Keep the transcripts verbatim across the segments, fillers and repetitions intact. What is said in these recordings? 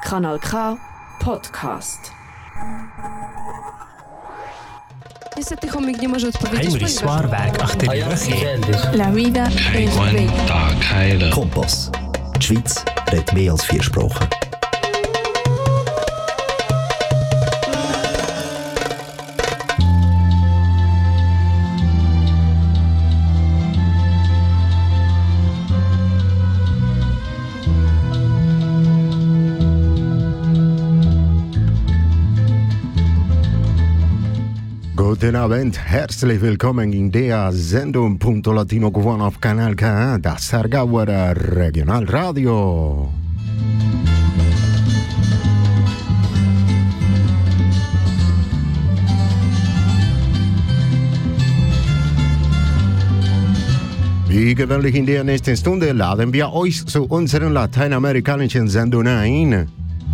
Kanal K Podcast. Niestety chomik nie może odpowiedzieć. Heinrich Swarberg, achtenigen. La vida es bella. Kompass. Die Schweiz redet mehr als vier Sprachen. Guten Abend, herzlich willkommen in der Sendung Punto Latino Cubano auf Kanal K, das Sargauer Regionalradio. Wie gewöhnlich in der nächsten Stunde laden wir euch zu unseren lateinamerikanischen Sendungen ein.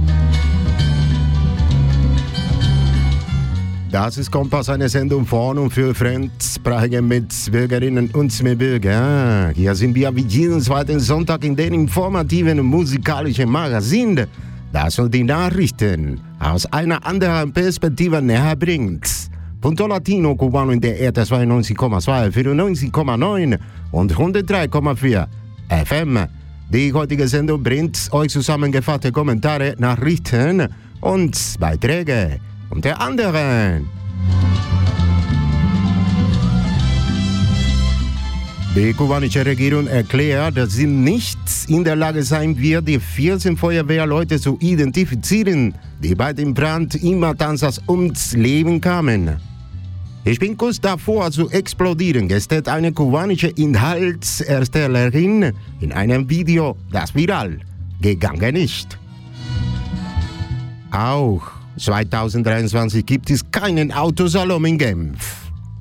Das ist Kompass, eine Sendung von und für fremdsprachige Mitbürgerinnen und Mitbürger. Hier sind wir wie jeden zweiten Sonntag in den informativen und musikalischen Magazin, das uns die Nachrichten aus einer anderen Perspektive näher bringt. Punto Latino Cubano in der Erde zweiundneunzig Komma zwei, vierundneunzig Komma neun und hundertdrei Komma vier F M. Die heutige Sendung bringt euch zusammengefasste Kommentare, Nachrichten und Beiträge. Unter anderem die kubanische Regierung erklärt, dass sie nicht in der Lage sein wird, die vierzehn Feuerwehrleute zu identifizieren, die bei dem Brand in Matanzas ums Leben kamen. Ich bin kurz davor zu explodieren, gestern eine kubanische Inhaltserstellerin in einem Video, das viral gegangen ist. Auch zweitausenddreiundzwanzig gibt es keinen Autosalon in Genf.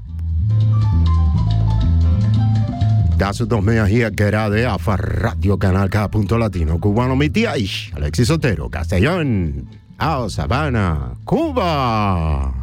Das und noch mehr hier gerade auf Radio Kanal K Punto Latino Cubano mit dir, ich, Alexis Otero, Castellón, aus Havana, Kuba.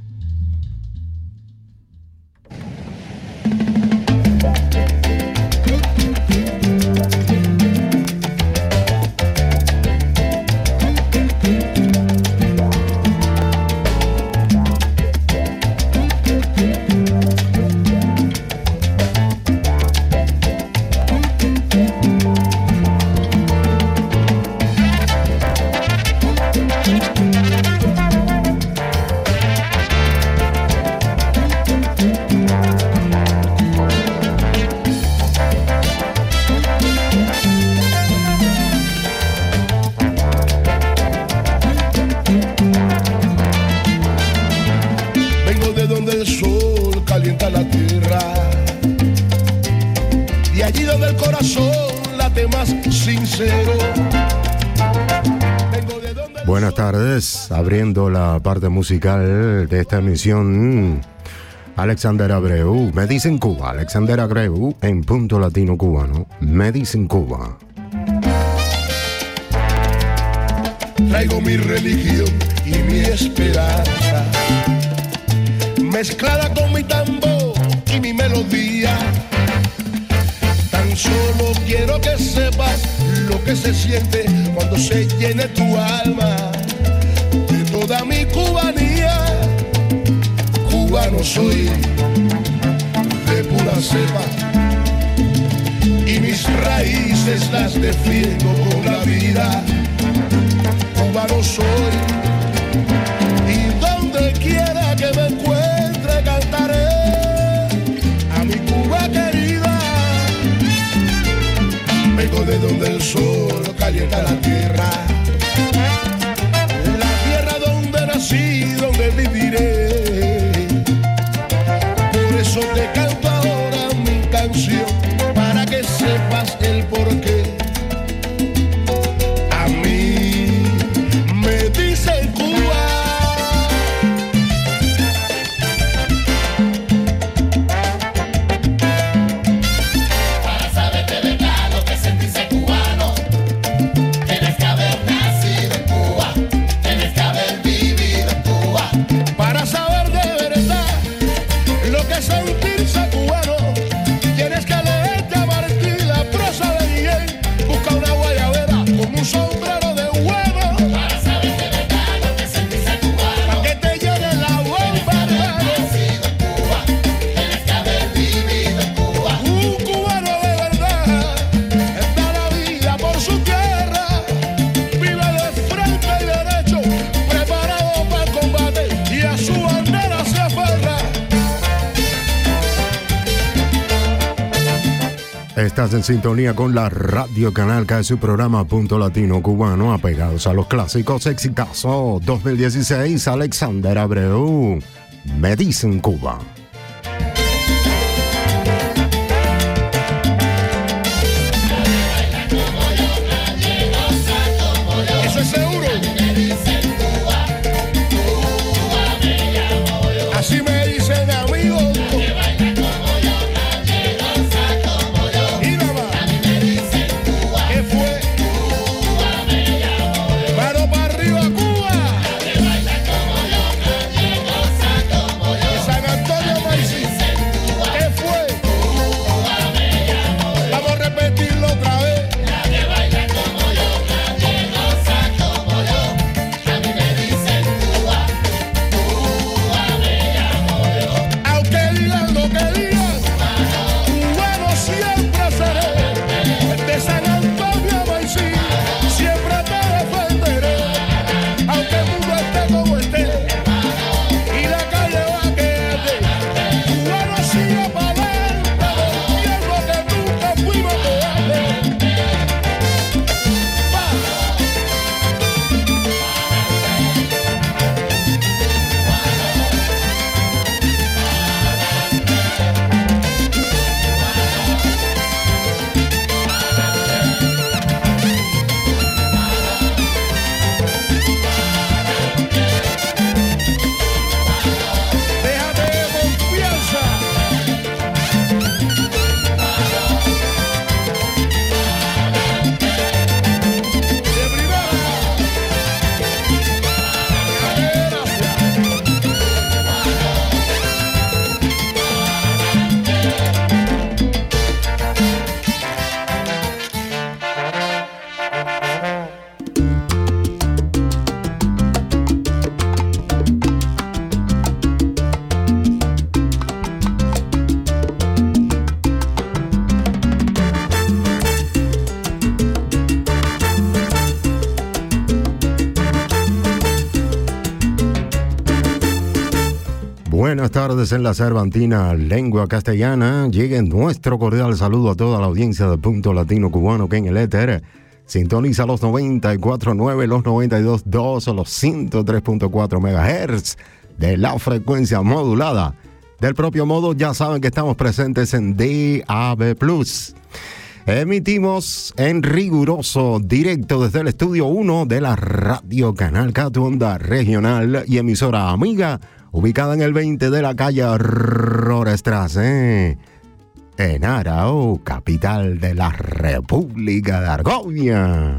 Buenas tardes, abriendo la parte musical de esta emisión, Alexander Abreu, me dicen Cuba, Alexander Abreu en Punto Latino Cubano, me dicen Cuba. Traigo mi religión y mi esperanza, mezclada con mi tambor y mi melodía. Tan solo quiero que sepas lo que se siente cuando se llene tu alma de toda mi cubanía. Cubano soy de pura cepa y mis raíces las defiendo con la vida. Cubano soy y donde quiera que me encuentre cantaré a mi Cuba querida. Vengo de donde el sol calienta la tierra, la tierra donde nací, donde viviré. Por eso te canto ahora mi canción, para que sepas el porqué. A mí me dicen Cuba. Estás en sintonía con la Radio Canal K, su programa Punto Latino Cubano, apegados a los clásicos. Exitazo dos mil dieciséis, Alexander Abreu, Me Dicen Cuba. Eso es seguro. Así me dicen amigos. Buenas tardes en la Cervantina, lengua castellana. Llegue nuestro cordial saludo a toda la audiencia de Punto Latino Cubano que en el éter sintoniza los noventa y cuatro punto nueve, los noventa y dos punto dos o los ciento tres punto cuatro megahertz de la frecuencia modulada. Del propio modo, ya saben que estamos presentes en D A B plus. Emitimos en riguroso directo desde el estudio uno de la Radio Canal K, tu onda regional y emisora amiga, ubicada en el veinte de la calle Rorestrasse, en Arao, capital de la República de Argovia.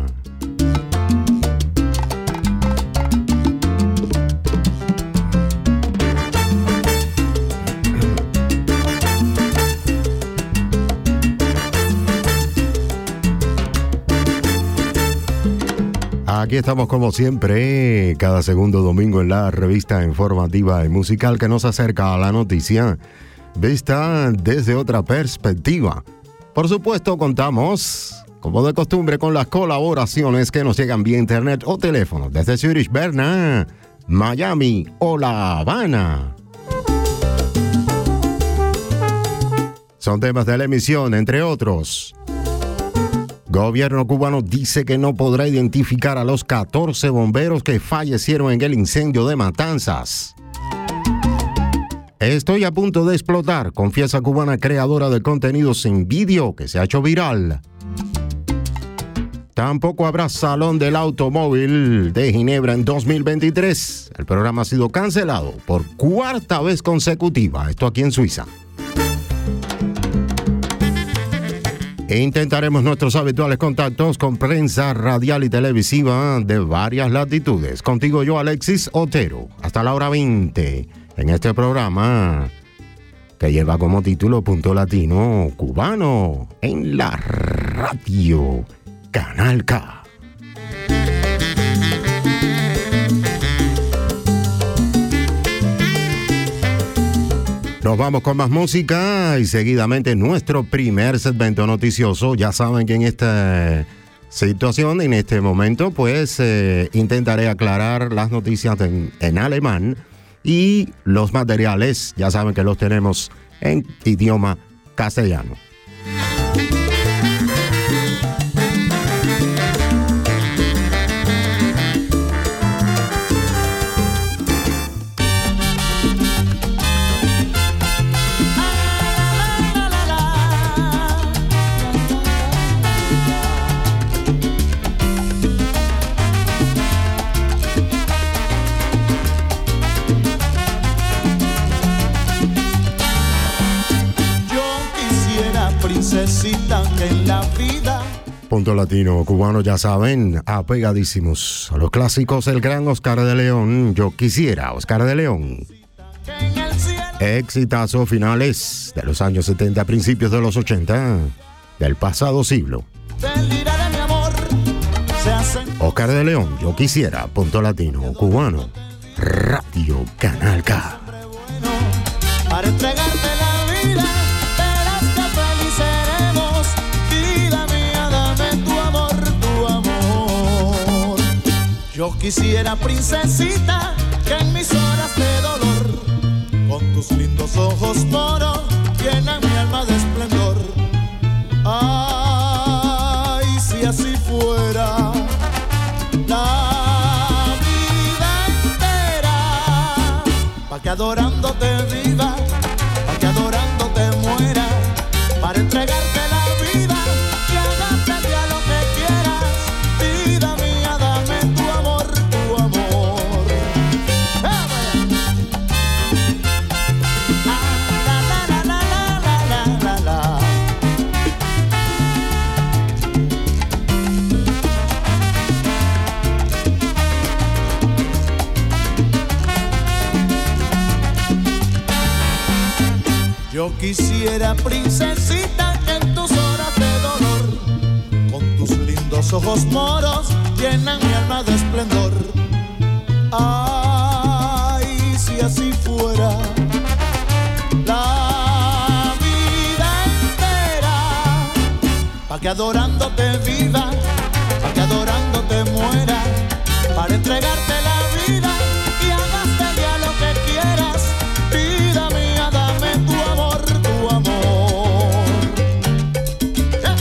Aquí estamos como siempre, cada segundo domingo en la revista informativa y musical que nos acerca a la noticia vista desde otra perspectiva. Por supuesto, contamos, como de costumbre, con las colaboraciones que nos llegan vía internet o teléfono desde Zurich, Berna, Miami o La Habana. Son temas de la emisión, entre otros. Gobierno cubano dice que no podrá identificar a los catorce bomberos que fallecieron en el incendio de Matanzas. Estoy a punto de explotar, confiesa cubana creadora de contenidos en vídeo que se ha hecho viral. Tampoco habrá Salón del Automóvil de Ginebra en dos mil veintitrés. El programa ha sido cancelado por cuarta vez consecutiva, esto aquí en Suiza. E intentaremos nuestros habituales contactos con prensa radial y televisiva de varias latitudes. Contigo yo, Alexis Otero, hasta la hora veinte, en este programa que lleva como título Punto Latino Cubano en la Radio Canal K. Nos vamos con más música y seguidamente nuestro primer segmento noticioso. Ya saben que en esta situación, en este momento, pues eh, intentaré aclarar las noticias en, en alemán y los materiales, ya saben que los tenemos en idioma castellano. Punto Latino Cubano, ya saben, apegadísimos a los clásicos. El gran Oscar de León, Yo Quisiera, Oscar de León. Exitazo finales de los años setenta, principios de los ochenta, del pasado siglo. Oscar de León, Yo Quisiera, Punto Latino Cubano, Radio Canal K. Para entregarte la vida, verás que feliz seremos. Vida mía, dame tu amor, tu amor. Yo quisiera, princesita, que en mis horas de dolor, con tus lindos ojos moros, llenan mi alma de esplendor. Ay, si así fuera la vida entera, pa' que adorándote viva, pa' que adorándote muera, para entregarte la vida y hagarte ya lo que quieras. Vida mía, dame tu amor, tu amor. ¡Ah, la, la, la, la, la, la, la, la. Yo quisiera, princesita, que en tus horas de dolor, con tus lindos ojos moros, llenan mi alma de esplendor. Ay, si así fuera la vida entera, pa' que adorándote viva, pa' que adorándote muera, para entregarte la vida y hagaste ya lo que quieras. Vida mía, dame tu amor, tu amor. Yeah.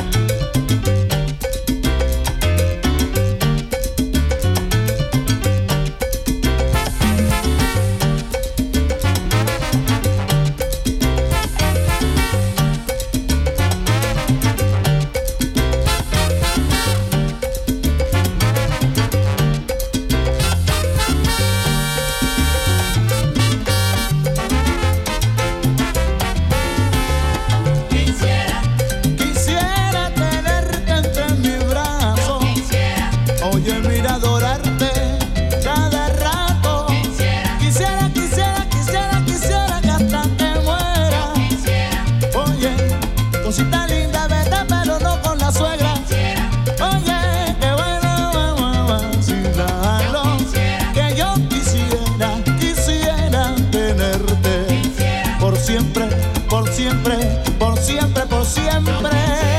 Quisiera tenerte entre mis brazos. Oye, mira, adorarte cada rato. Quisiera, quisiera, quisiera, quisiera que hasta que muera. Oye, cosita linda, vete, pero no con la suegra. Oye, qué bueno, vamos a vacilarlo. Que yo quisiera, quisiera tenerte por siempre, por siempre, por siempre, por siempre.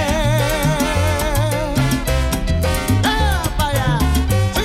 ¡Ah, pa' allá! ¡Sí!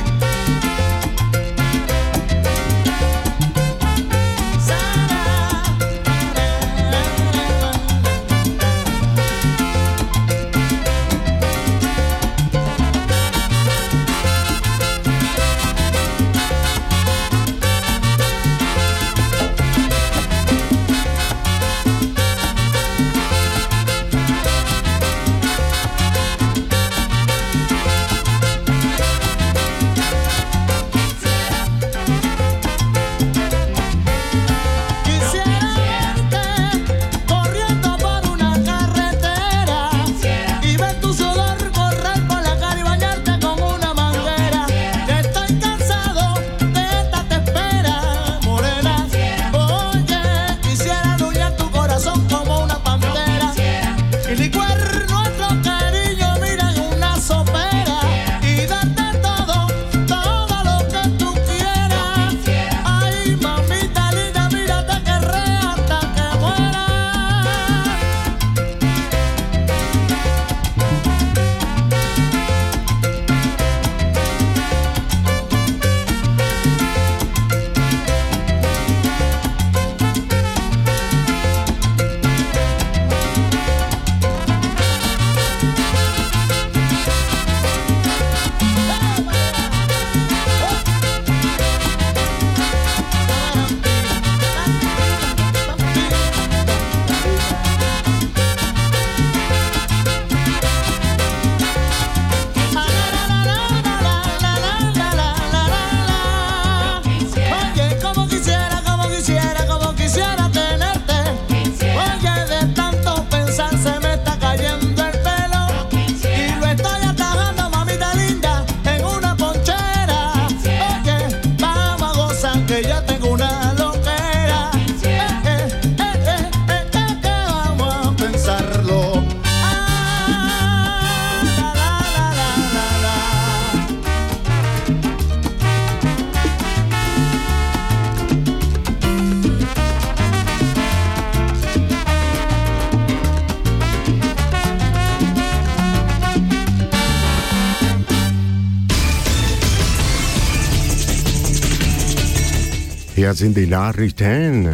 Hier sind die Nachrichten.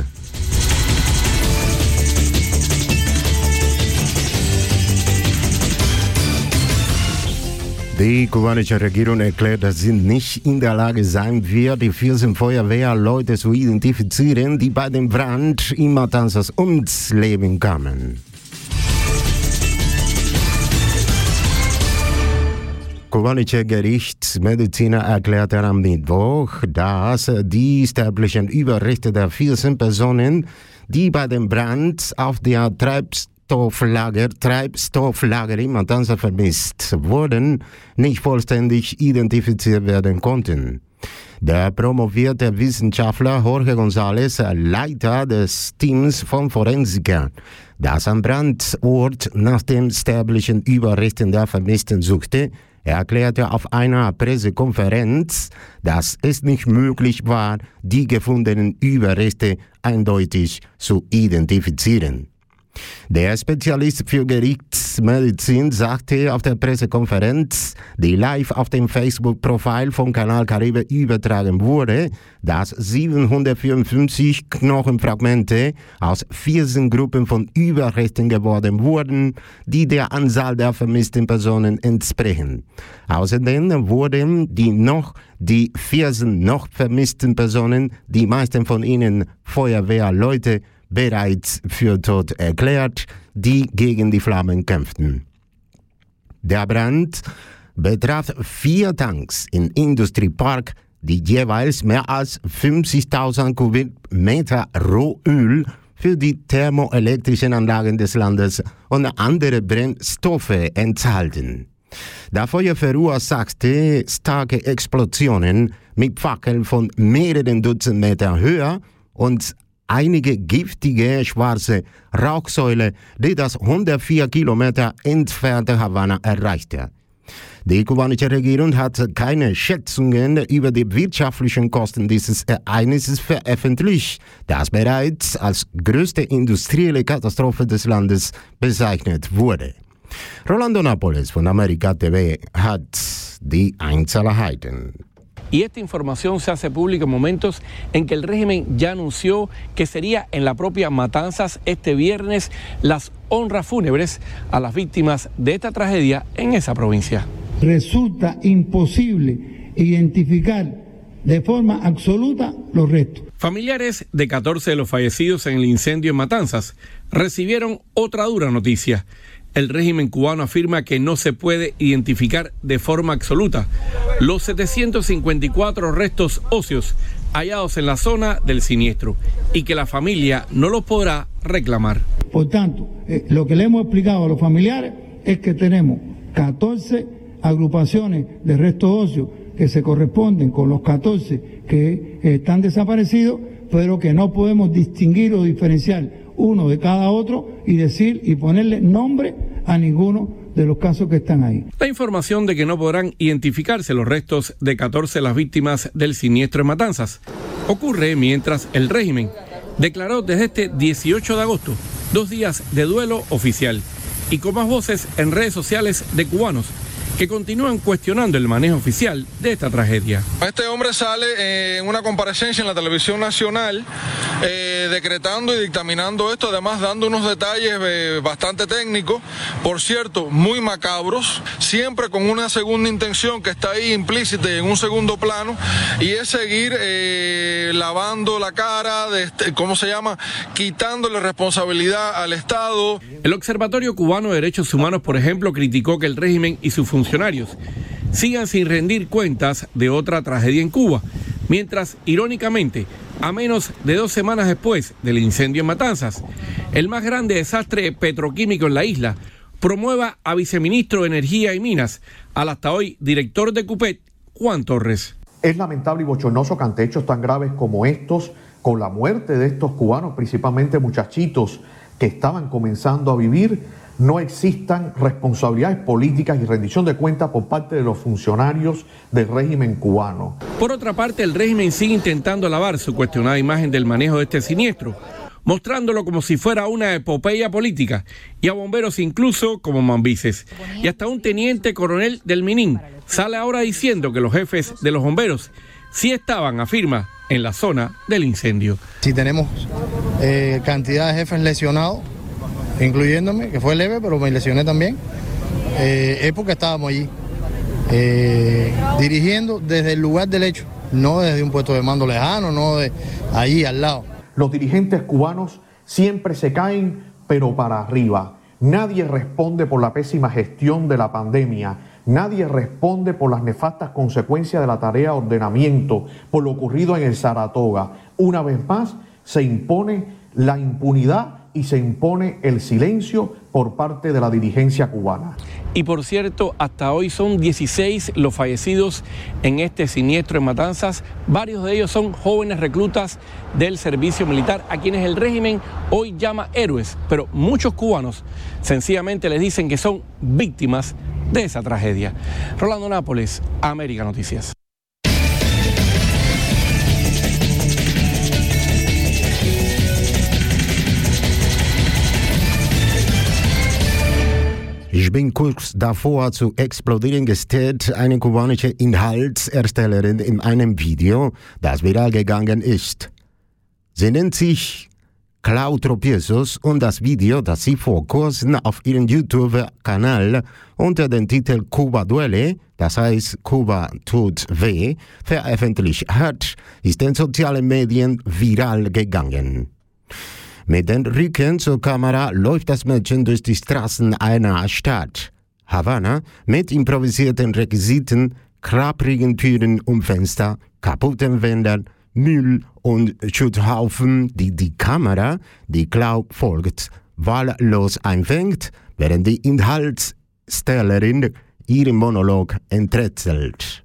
Die kubanische Regierung erklärt, dass sie nicht in der Lage sein wird, die vierzehn Feuerwehrleute zu identifizieren, die bei dem Brand in Matanzas ums Leben kamen. Kubanische Gerichtsmediziner erklärte am Mittwoch, dass die sterblichen Überreste der vierzehn Personen, die bei dem Brand auf der Treibstofflager, Treibstofflager in Matanzas vermisst wurden, nicht vollständig identifiziert werden konnten. Der promovierte Wissenschaftler Jorge González, Leiter des Teams von Forensikern, das am Brandort nach den sterblichen Überresten der Vermissten suchte, erklärte auf einer Pressekonferenz, dass es nicht möglich war, die gefundenen Überreste eindeutig zu identifizieren. Der Spezialist für Gerichtsmedizin sagte auf der Pressekonferenz, die live auf dem Facebook-Profil von Kanal Caribe übertragen wurde, dass siebenhundertvierundfünfzig Knochenfragmente aus vierzehn Gruppen von Überresten geworden wurden, die der Anzahl der vermissten Personen entsprechen. Außerdem wurden die noch die vierzehn noch vermissten Personen, die meisten von ihnen Feuerwehrleute, bereits für tot erklärt, die gegen die Flammen kämpften. Der Brand betraf vier Tanks im Industriepark, die jeweils mehr als fünfzigtausend Kubikmeter Rohöl für die thermoelektrischen Anlagen des Landes und andere Brennstoffe enthalten. Der Feuer verursachte starke Explosionen mit Fackeln von mehreren Dutzend Meter Höhe und einige giftige schwarze Rauchsäule, die das hundertvier Kilometer entfernte Havanna erreichte. Die kubanische Regierung hat keine Schätzungen über die wirtschaftlichen Kosten dieses Ereignisses veröffentlicht, das bereits als größte industrielle Katastrophe des Landes bezeichnet wurde. Rolando Nápoles von America T V hat die Einzelheiten. Y esta información se hace pública en momentos en que el régimen ya anunció que sería en la propia Matanzas este viernes las honras fúnebres a las víctimas de esta tragedia en esa provincia. Resulta imposible identificar de forma absoluta los restos. Familiares de catorce de los fallecidos en el incendio en Matanzas recibieron otra dura noticia. El régimen cubano afirma que no se puede identificar de forma absoluta los setecientos cincuenta y cuatro restos óseos hallados en la zona del siniestro y que la familia no los podrá reclamar. Por tanto, eh, lo que le hemos explicado a los familiares es que tenemos catorce agrupaciones de restos óseos que se corresponden con los catorce que eh, están desaparecidos, pero que no podemos distinguir o diferenciar uno de cada otro y decir y ponerle nombre a ninguno de los casos que están ahí. La información de que no podrán identificarse los restos de catorce de las víctimas del siniestro en Matanzas ocurre mientras el régimen declaró desde este dieciocho de agosto dos días de duelo oficial y con más voces en redes sociales de cubanos que continúan cuestionando el manejo oficial de esta tragedia. Este hombre sale eh, en una comparecencia en la televisión nacional eh, decretando y dictaminando esto, además dando unos detalles eh, bastante técnicos, por cierto, muy macabros, siempre con una segunda intención que está ahí implícita en un segundo plano, y es seguir eh, lavando la cara, de este, ¿cómo se llama?, quitándole responsabilidad al Estado. El Observatorio Cubano de Derechos Humanos, por ejemplo, criticó que el régimen y sus funcionarios sigan sin rendir cuentas de otra tragedia en Cuba, mientras, irónicamente, a menos de dos semanas después del incendio en Matanzas, el más grande desastre petroquímico en la isla promueva a viceministro de Energía y Minas, al hasta hoy director de CUPET, Juan Torres. Es lamentable y bochornoso que ante hechos tan graves como estos, con la muerte de estos cubanos, principalmente muchachitos que estaban comenzando a vivir, no existan responsabilidades políticas y rendición de cuentas por parte de los funcionarios del régimen cubano. Por otra parte, el régimen sigue intentando lavar su cuestionada imagen del manejo de este siniestro, mostrándolo como si fuera una epopeya política, y a bomberos incluso como mambises. Y hasta un teniente coronel del Minin sale ahora diciendo que los jefes de los bomberos sí estaban, afirma, en la zona del incendio. Si tenemos eh, cantidad de jefes lesionados, incluyéndome, que fue leve, pero me lesioné también, eh, es porque estábamos allí, eh, dirigiendo desde el lugar del hecho, no desde un puesto de mando lejano, no de allí al lado. Los dirigentes cubanos siempre se caen, pero para arriba. Nadie responde por la pésima gestión de la pandemia. Nadie responde por las nefastas consecuencias de la tarea de ordenamiento, por lo ocurrido en el Saratoga. Una vez más, se impone la impunidad y se impone el silencio por parte de la dirigencia cubana. Y por cierto, hasta hoy son dieciséis los fallecidos en este siniestro en Matanzas. Varios de ellos son jóvenes reclutas del servicio militar, a quienes el régimen hoy llama héroes, pero muchos cubanos sencillamente les dicen que son víctimas de esa tragedia. Rolando Nápoles, América Noticias. Ich bin kurz davor zu explodieren, gestört eine kubanische Inhaltserstellerin in einem Video, das viral gegangen ist. Sie nennt sich Clau Tropiezos und das Video, das sie vor kurzem auf ihrem YouTube-Kanal unter dem Titel Cuba Duele, das heißt Kuba tut weh, veröffentlicht hat, ist in sozialen Medien viral gegangen. Mit dem Rücken zur Kamera läuft das Mädchen durch die Straßen einer Stadt. Havanna mit improvisierten Requisiten, klapprigen Türen und Fenster, kaputten Wänden, Müll und Schutthaufen, die die Kamera, die Clau folgt, wahllos einfängt, während die Inhaltstellerin ihren Monolog enträtselt.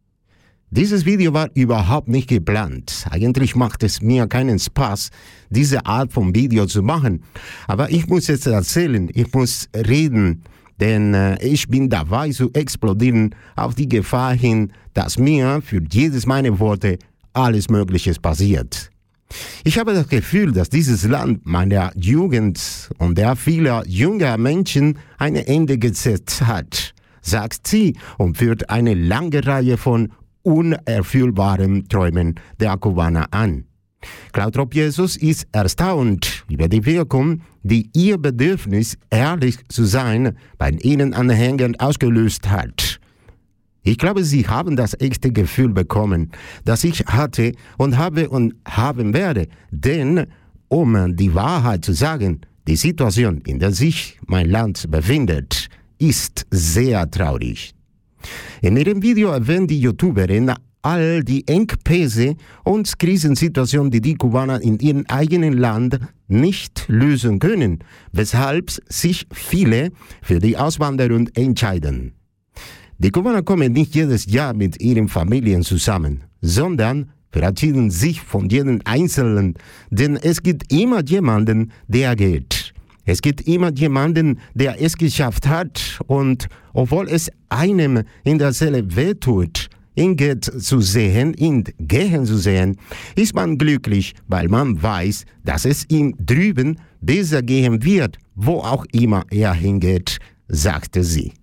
Dieses Video war überhaupt nicht geplant. Eigentlich macht es mir keinen Spaß, diese Art von Video zu machen. Aber ich muss jetzt erzählen, ich muss reden, denn äh, ich bin dabei zu explodieren auf die Gefahr hin, dass mir für jedes meiner Worte alles Mögliche passiert. Ich habe das Gefühl, dass dieses Land meiner Jugend und der vieler junger Menschen ein Ende gesetzt hat, sagt sie und führt eine lange Reihe von unerfüllbaren Träumen der Kubaner an. Clau Tropiezos ist erstaunt über die Wirkung, die ihr Bedürfnis, ehrlich zu sein, bei ihnen Anhängern ausgelöst hat. Ich glaube, sie haben das echte Gefühl bekommen, das ich hatte und habe und haben werde. Denn, um die Wahrheit zu sagen, die Situation, in der sich mein Land befindet, ist sehr traurig. In ihrem Video erwähnt die YouTuberin all die Engpässe und Krisensituationen, die die Kubaner in ihrem eigenen Land nicht lösen können, weshalb sich viele für die Auswanderung entscheiden. Die Kubaner kommen nicht jedes Jahr mit ihren Familien zusammen, sondern verabschieden sich von jedem Einzelnen, denn es gibt immer jemanden, der geht. Es gibt immer jemanden, der es geschafft hat und obwohl es einem in der Seele wehtut, ihn geht zu sehen, ihn gehen zu sehen, ist man glücklich, weil man weiß, dass es ihm drüben besser gehen wird, wo auch immer er hingeht, sagte sie.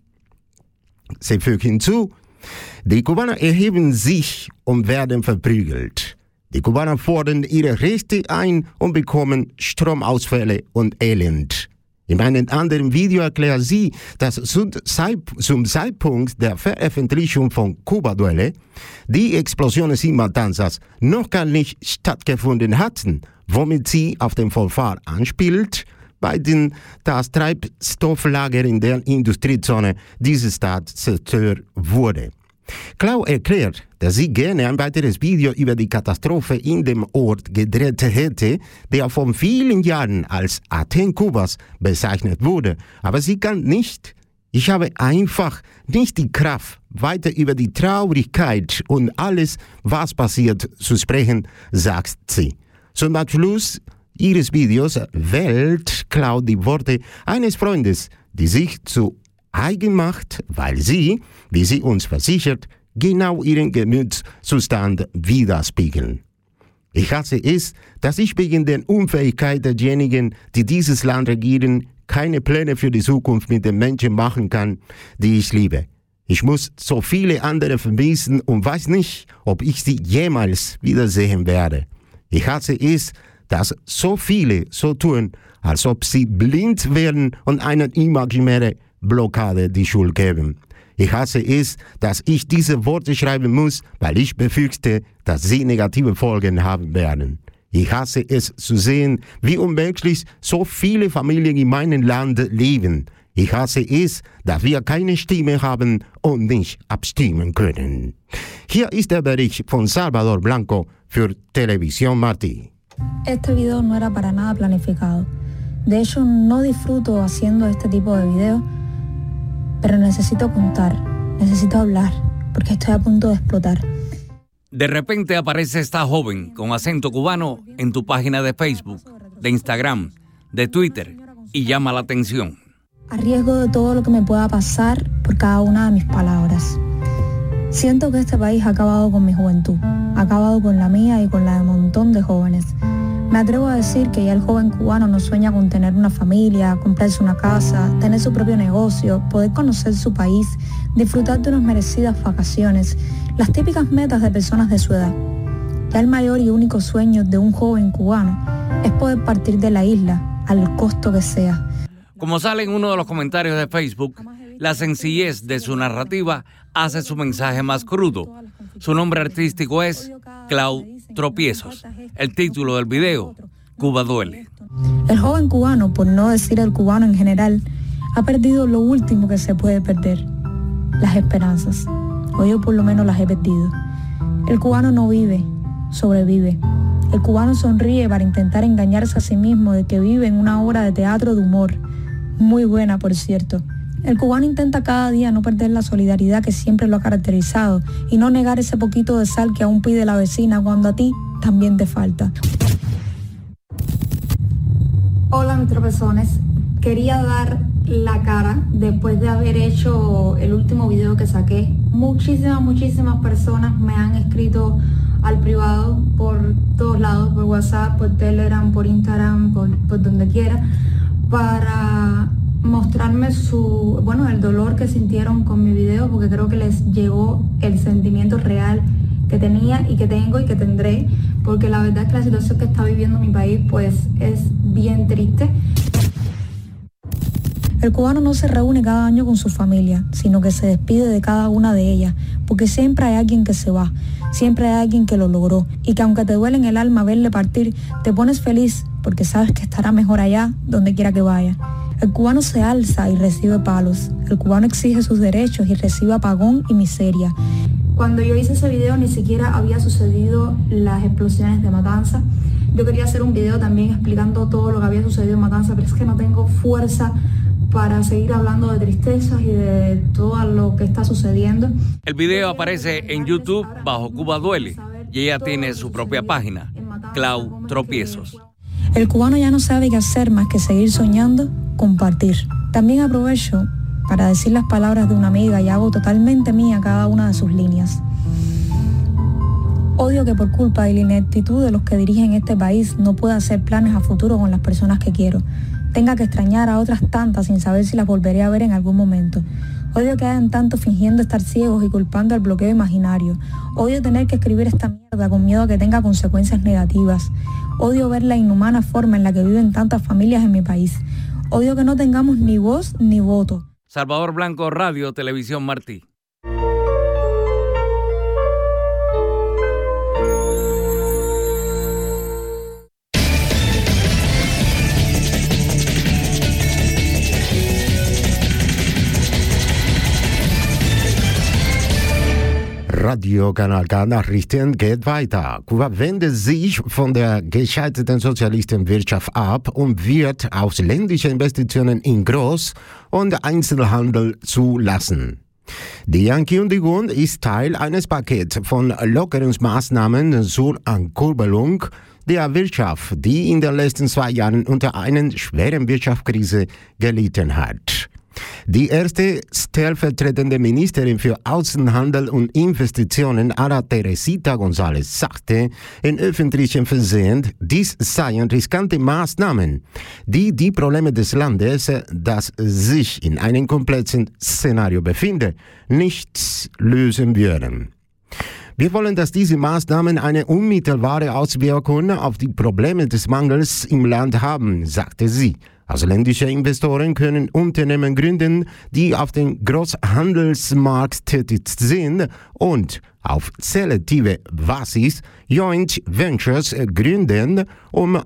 Sie fügt hinzu, die Kubaner erheben sich und werden verprügelt. Die Kubaner fordern ihre Rechte ein und bekommen Stromausfälle und Elend. In einem anderen Video erklärt sie, dass zum Zeitpunkt der Veröffentlichung von Cuba Duele die Explosionen in Matanzas noch gar nicht stattgefunden hatten, womit sie auf den Vorfall anspielt, bei dem das Treibstofflager in der Industriezone dieser Stadt zerstört wurde. Clau erklärt, dass sie gerne ein weiteres Video über die Katastrophe in dem Ort gedreht hätte, der vor vielen Jahren als Athen Kubas bezeichnet wurde. Aber sie kann nicht. Ich habe einfach nicht die Kraft, weiter über die Traurigkeit und alles, was passiert, zu sprechen, sagt sie. Zum Abschluss ihres Videos wählt Clau die Worte eines Freundes, die sich zu eigen macht, weil sie, wie sie uns versichert, genau ihren Gemütszustand widerspiegeln. Ich hasse es, dass ich wegen der Unfähigkeit derjenigen, die dieses Land regieren, keine Pläne für die Zukunft mit den Menschen machen kann, die ich liebe. Ich muss so viele andere vermissen und weiß nicht, ob ich sie jemals wiedersehen werde. Ich hasse es, dass so viele so tun, als ob sie blind wären und einer imaginären Blockade die Schuld geben. Ich hasse es, dass ich diese Worte schreiben muss, weil ich befürchte, dass sie negative Folgen haben werden. Ich hasse es zu sehen, wie unmenschlich so viele Familien in meinem Land leben. Ich hasse es, dass wir keine Stimme haben und nicht abstimmen können. Hier ist der Bericht von Salvador Blanco für Televisión Martí. Este video no era para nada planificado. De hecho, no disfruto haciendo este tipo de videos, pero necesito contar, necesito hablar, porque estoy a punto de explotar. De repente aparece esta joven con acento cubano en tu página de Facebook, de Instagram, de Twitter y llama la atención. A riesgo de todo lo que me pueda pasar por cada una de mis palabras. Siento que este país ha acabado con mi juventud, ha acabado con la mía y con la de un montón de jóvenes. Me atrevo a decir que ya el joven cubano no sueña con tener una familia, comprarse una casa, tener su propio negocio, poder conocer su país, disfrutar de unas merecidas vacaciones, las típicas metas de personas de su edad. Ya el mayor y único sueño de un joven cubano es poder partir de la isla, al costo que sea. Como sale en uno de los comentarios de Facebook, la sencillez de su narrativa hace su mensaje más crudo. Su nombre artístico es Clau Tropiezos. El título del video, Cuba duele. El joven cubano, por no decir el cubano en general, ha perdido lo último que se puede perder, las esperanzas. O yo por lo menos las he perdido. El cubano no vive, sobrevive. El cubano sonríe para intentar engañarse a sí mismo de que vive en una obra de teatro de humor. Muy buena, por cierto. El cubano intenta cada día no perder la solidaridad que siempre lo ha caracterizado y no negar ese poquito de sal que aún pide la vecina cuando a ti también te falta. Hola, mis tropezones. Quería dar la cara después de haber hecho el último video que saqué. Muchísimas, muchísimas personas me han escrito al privado por todos lados, por WhatsApp, por Telegram, por Instagram, por, por donde quiera, para mostrarme su, bueno, el dolor que sintieron con mi video, porque creo que les llegó el sentimiento real que tenía y que tengo y que tendré, porque la verdad es que la situación que está viviendo mi país pues es bien triste. El cubano no se reúne cada año con su familia, sino que se despide de cada una de ellas, porque siempre hay alguien que se va, siempre hay alguien que lo logró, y que aunque te duele en el alma verle partir, te pones feliz porque sabes que estará mejor allá, donde quiera que vaya. El cubano se alza y recibe palos, el cubano exige sus derechos y recibe apagón y miseria. Cuando yo hice ese video ni siquiera había sucedido las explosiones de Matanza. Yo quería hacer un video también explicando todo lo que había sucedido en Matanza, pero es que no tengo fuerza para seguir hablando de tristezas y de todo lo que está sucediendo. El video aparece en YouTube bajo Cuba Duele y ella tiene su propia página, Clau Tropiezos. El cubano ya no sabe qué hacer más que seguir soñando, compartir. También aprovecho para decir las palabras de una amiga y hago totalmente mía cada una de sus líneas. Odio que por culpa de la ineptitud de los que dirigen este país no pueda hacer planes a futuro con las personas que quiero. Tenga que extrañar a otras tantas sin saber si las volveré a ver en algún momento. Odio que hayan tanto fingiendo estar ciegos y culpando al bloqueo imaginario. Odio tener que escribir esta mierda con miedo a que tenga consecuencias negativas. Odio ver la inhumana forma en la que viven tantas familias en mi país. Odio que no tengamos ni voz ni voto. Salvador Blanco, Radio Televisión Martí. Radiokanal K Nachrichten geht weiter. Kuba wendet sich von der gescheiterten Sozialistenwirtschaft ab und wird ausländische Investitionen in Groß- und Einzelhandel zulassen. Die Ankündigung ist Teil eines Pakets von Lockerungsmaßnahmen zur Ankurbelung der Wirtschaft, die in den letzten zwei Jahren unter einer schweren Wirtschaftskrise gelitten hat. Die erste stellvertretende Ministerin für Außenhandel und Investitionen, Ana Teresita González, sagte in öffentlichem Fernsehen, dies seien riskante Maßnahmen, die die Probleme des Landes, das sich in einem komplexen Szenario befindet, nicht lösen würden. Wir wollen, dass diese Maßnahmen eine unmittelbare Auswirkung auf die Probleme des Mangels im Land haben, sagte sie. Ausländische Investoren können Unternehmen gründen, die auf dem Großhandelsmarkt tätig sind und auf selektive Basis Joint Ventures gründen, um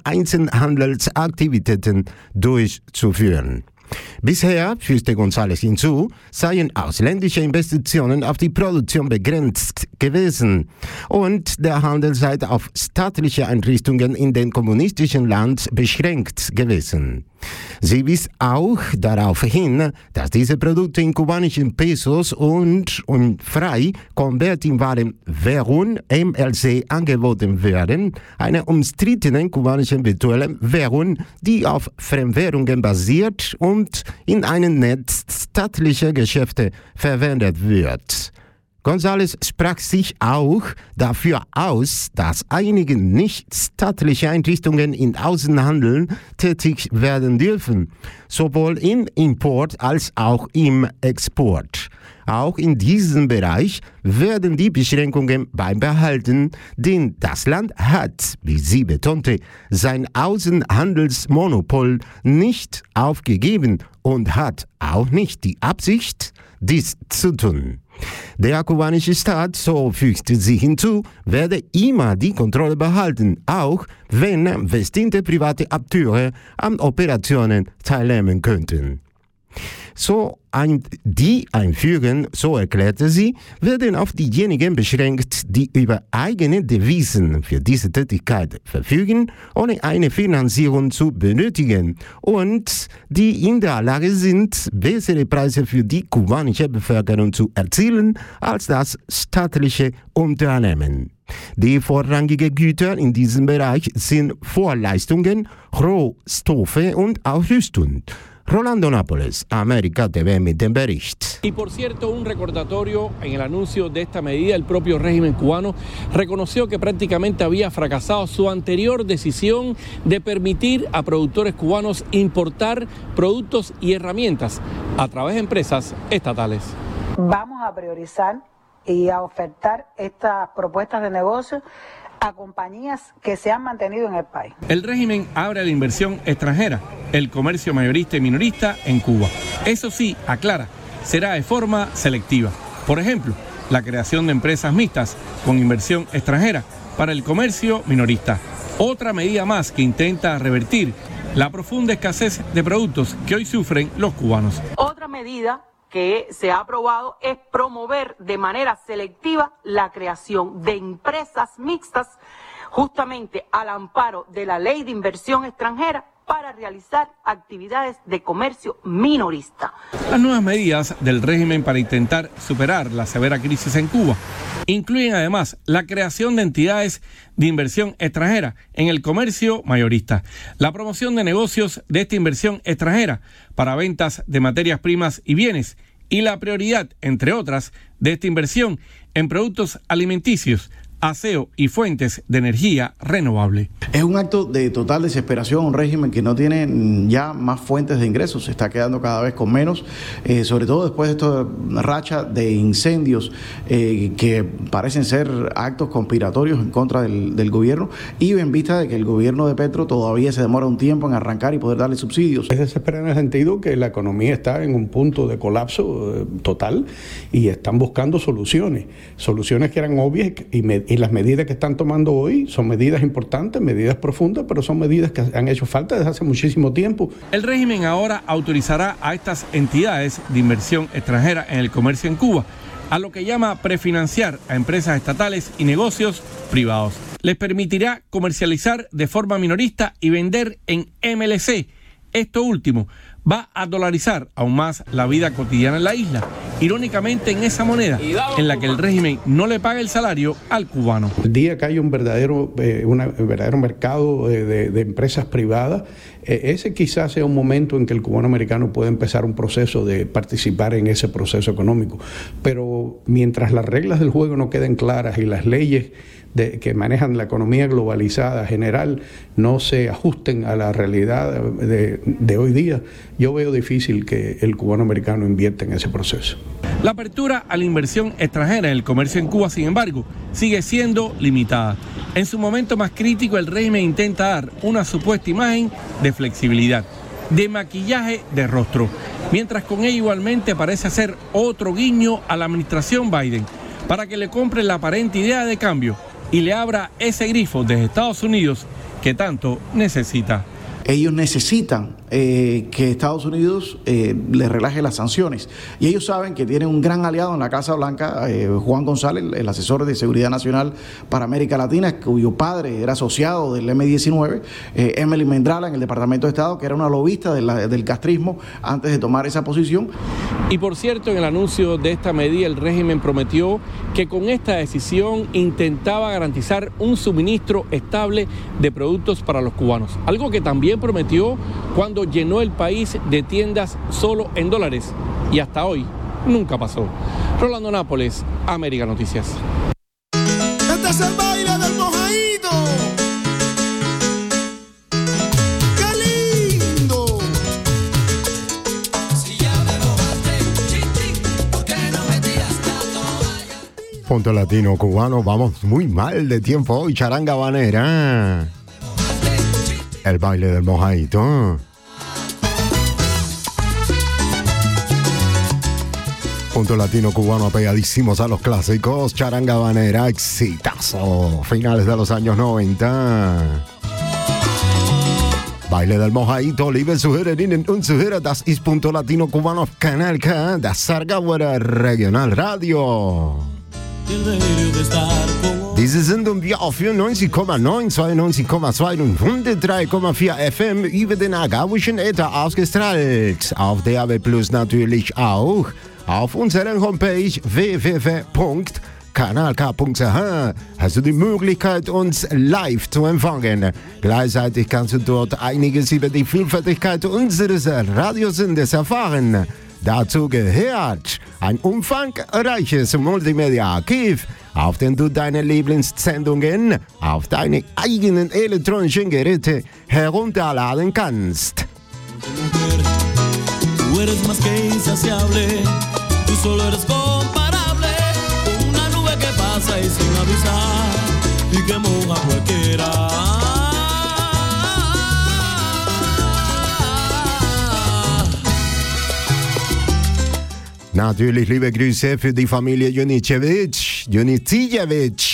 Einzelhandelsaktivitäten durchzuführen. Bisher, fügte González hinzu, seien ausländische Investitionen auf die Produktion begrenzt gewesen und der Handel sei auf staatliche Einrichtungen in dem kommunistischen Land beschränkt gewesen. Sie wies auch darauf hin, dass diese Produkte in kubanischen Pesos und in frei konvertierbaren Währung M L C angeboten werden, einer umstrittenen kubanischen virtuellen Währung, die auf Fremdwährungen basiert und in einem Netz staatlicher Geschäfte verwendet wird. González sprach sich auch dafür aus, dass einige nicht-staatliche Einrichtungen im Außenhandel tätig werden dürfen, sowohl im Import als auch im Export. Auch in diesem Bereich werden die Beschränkungen beibehalten, denn das Land hat, wie sie betonte, sein Außenhandelsmonopol nicht aufgegeben und hat auch nicht die Absicht, dies zu tun. Der kubanische Staat, so fügte sie hinzu, werde immer die Kontrolle behalten, auch wenn bestimmte private Akteure an Operationen teilnehmen könnten. So ein, die Einführung, so erklärte sie, werden auf diejenigen beschränkt, die über eigene Devisen für diese Tätigkeit verfügen, ohne eine Finanzierung zu benötigen und die in der Lage sind, bessere Preise für die kubanische Bevölkerung zu erzielen als das staatliche Unternehmen. Die vorrangigen Güter in diesem Bereich sind Vorleistungen, Rohstoffe und Ausrüstung. Rolando Nápoles, América T V mit dem Bericht. Y por cierto, un recordatorio en el anuncio de esta medida, el propio régimen cubano reconoció que prácticamente había fracasado su anterior decisión de permitir a productores cubanos importar productos y herramientas a través de empresas estatales. Vamos a priorizar y a ofertar estas propuestas de negocio a compañías que se han mantenido en el país. El régimen abre la inversión extranjera, el comercio mayorista y minorista en Cuba. Eso sí, aclara, será de forma selectiva. Por ejemplo, la creación de empresas mixtas con inversión extranjera para el comercio minorista. Otra medida más que intenta revertir la profunda escasez de productos que hoy sufren los cubanos. Otra medida que se ha aprobado es promover de manera selectiva la creación de empresas mixtas justamente al amparo de la Ley de Inversión Extranjera para realizar actividades de comercio minorista. Las nuevas medidas del régimen para intentar superar la severa crisis en Cuba incluyen además la creación de entidades de inversión extranjera en el comercio mayorista, la promoción de negocios de esta inversión extranjera para ventas de materias primas y bienes y la prioridad, entre otras, de esta inversión en productos alimenticios, aseo y fuentes de energía renovable. Es un acto de total desesperación, un régimen que no tiene ya más fuentes de ingresos, se está quedando cada vez con menos, eh, sobre todo después de esta racha de incendios eh, que parecen ser actos conspiratorios en contra del, del gobierno y en vista de que el gobierno de Petro todavía se demora un tiempo en arrancar y poder darle subsidios. Es desesperante en el sentido que la economía está en un punto de colapso eh, total y están buscando soluciones, soluciones que eran obvias y me, Y las medidas que están tomando hoy son medidas importantes, medidas profundas, pero son medidas que han hecho falta desde hace muchísimo tiempo. El régimen ahora autorizará a estas entidades de inversión extranjera en el comercio en Cuba, a lo que llama prefinanciar a empresas estatales y negocios privados. Les permitirá comercializar de forma minorista y vender en M L C. Esto último, va a dolarizar aún más la vida cotidiana en la isla, irónicamente en esa moneda en la que el régimen no le paga el salario al cubano. El día que haya un verdadero, eh, una, un verdadero mercado de, de, de empresas privadas, eh, ese quizás sea un momento en que el cubano americano pueda empezar un proceso de participar en ese proceso económico. Pero mientras las reglas del juego no queden claras y las leyes de, que manejan la economía globalizada general no se ajusten a la realidad de, de hoy día, yo veo difícil que el cubano americano invierta en ese proceso. La apertura a la inversión extranjera en el comercio en Cuba, sin embargo, sigue siendo limitada. En su momento más crítico, el régimen intenta dar una supuesta imagen de flexibilidad, de maquillaje de rostro, mientras con ello igualmente parece hacer otro guiño a la administración Biden para que le compre la aparente idea de cambio y le abra ese grifo desde Estados Unidos que tanto necesita. Ellos necesitan eh, que Estados Unidos eh, les relaje las sanciones. Y ellos saben que tienen un gran aliado en la Casa Blanca, eh, Juan González, el asesor de Seguridad Nacional para América Latina, cuyo padre era asociado del eme diecinueve, eh, Emily Mendrala en el Departamento de Estado, que era una lobista de la, del castrismo antes de tomar esa posición. Y por cierto, en el anuncio de esta medida, el régimen prometió que con esta decisión intentaba garantizar un suministro estable de productos para los cubanos, algo que también prometió cuando llenó el país de tiendas solo en dólares y hasta hoy nunca pasó. Rolando Nápoles, América Noticias. Este es el baile del mojadito. ¡Qué lindo! Si ya me mojaste, chichi, ¿por qué no me tiras la toalla? Punto Latino Cubano, vamos muy mal de tiempo hoy, charanga banera. El baile del mojadito. Punto Latino Cubano apegadísimos a los clásicos. Charanga banera, exitazo. Finales de los años noventa. Baile del mojadito, liebe Zuhörerinnen und Zuhörer, das ist Punto Latino Cubano auf Kanal K, das Sargauer Regional Radio. Diese Sendung wir auf vierundneunzig Komma neun, zweiundneunzig Komma zwei und hundertdrei Komma vier F M über den agawischen Äther ausgestrahlt. Auf D A B Plus natürlich auch. Auf unserer Homepage w w w punkt kanal k punkt c h hast du die Möglichkeit, uns live zu empfangen. Gleichzeitig kannst du dort einiges über die Vielfältigkeit unseres Radiosenders erfahren. Dazu gehört ein umfangreiches Multimedia-Archiv, auf dem du deine Lieblingssendungen auf deine eigenen elektronischen Geräte herunterladen kannst. Tú eres más que insaciable, tú solo eres comparable con una nube que pasa y sin avisar y que moja cualquiera. Natürlich liebe Grüße für die Familie Junicevic, Junicijevic.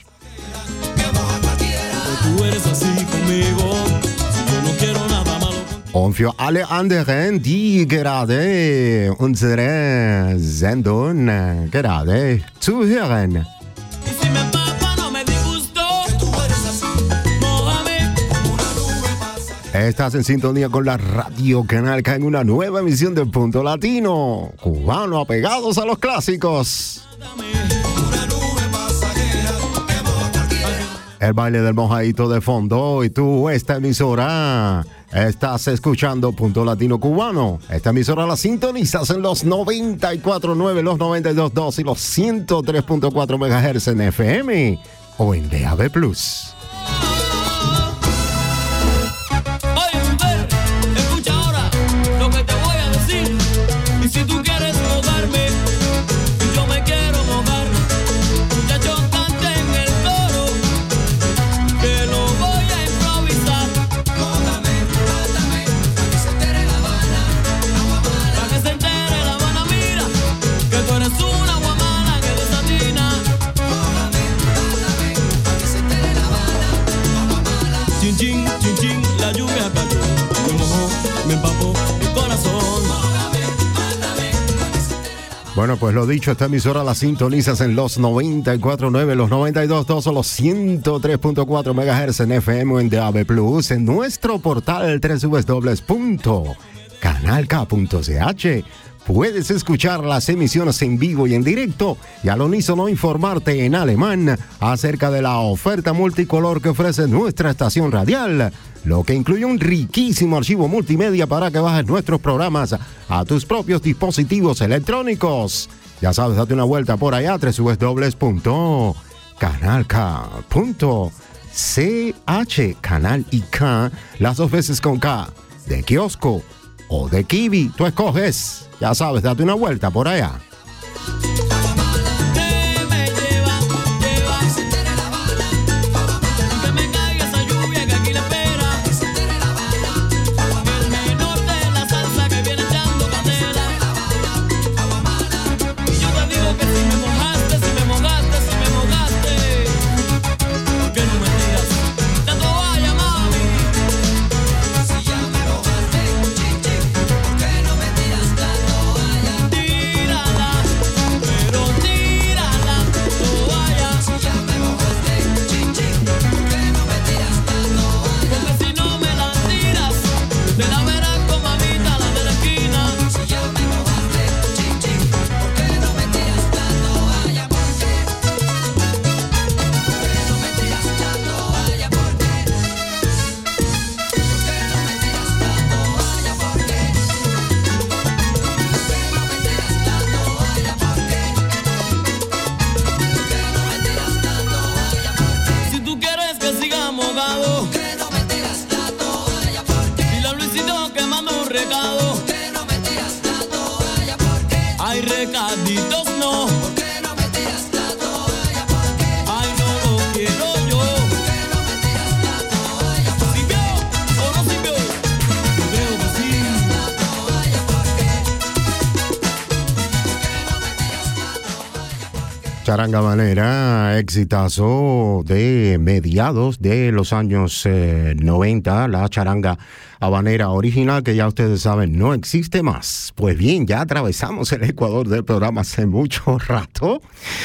Und für alle anderen, die gerade unsere Sendung gerade zuhören. Estás en sintonía con la Radio Canal K en una nueva emisión de Punto Latino Cubano, apegados a los clásicos. El baile del mojadito de fondo y tú, esta emisora, estás escuchando Punto Latino Cubano. Esta emisora la sintonizas en los noventa y cuatro punto nueve, los noventa y dos punto dos y los ciento tres punto cuatro megahertz en F M o en D A B Plus. Si tú quieres mojarme, yo me quiero mojar. Muchachos, canten el coro, que lo voy a improvisar. Mójame, mátame, para que se entere La Habana, agua mala. Para que se entere La Habana, mira, que tú eres una guamana que desatina. Mójame, mátame, para que se entere La Habana, agua mala. Chin, chin, chin, chin, la lluvia cayó, me mojó, me empapó mi corazón. Bueno, pues lo dicho, esta emisora la sintonizas en los noventa y cuatro punto nueve, los noventa y dos punto dos o los ciento tres punto cuatro megahertz en F M o en D A B Plus, en nuestro portal doble u doble u doble u punto canal canal k punto c h. Puedes escuchar las emisiones en vivo y en directo y al unísono informarte en alemán acerca de la oferta multicolor que ofrece nuestra estación radial, lo que incluye un riquísimo archivo multimedia para que bajes nuestros programas a tus propios dispositivos electrónicos. Ya sabes, date una vuelta por allá, doble u doble u doble u punto canal k punto c h, canal y K, las dos veces con K, de kiosco o de kiwi, tú escoges. Ya sabes, date una vuelta por allá. Charanga Habanera, exitazo de mediados de los años eh, noventa, la charanga habanera original que ya ustedes saben no existe más. Pues bien, ya atravesamos el Ecuador del programa hace mucho rato,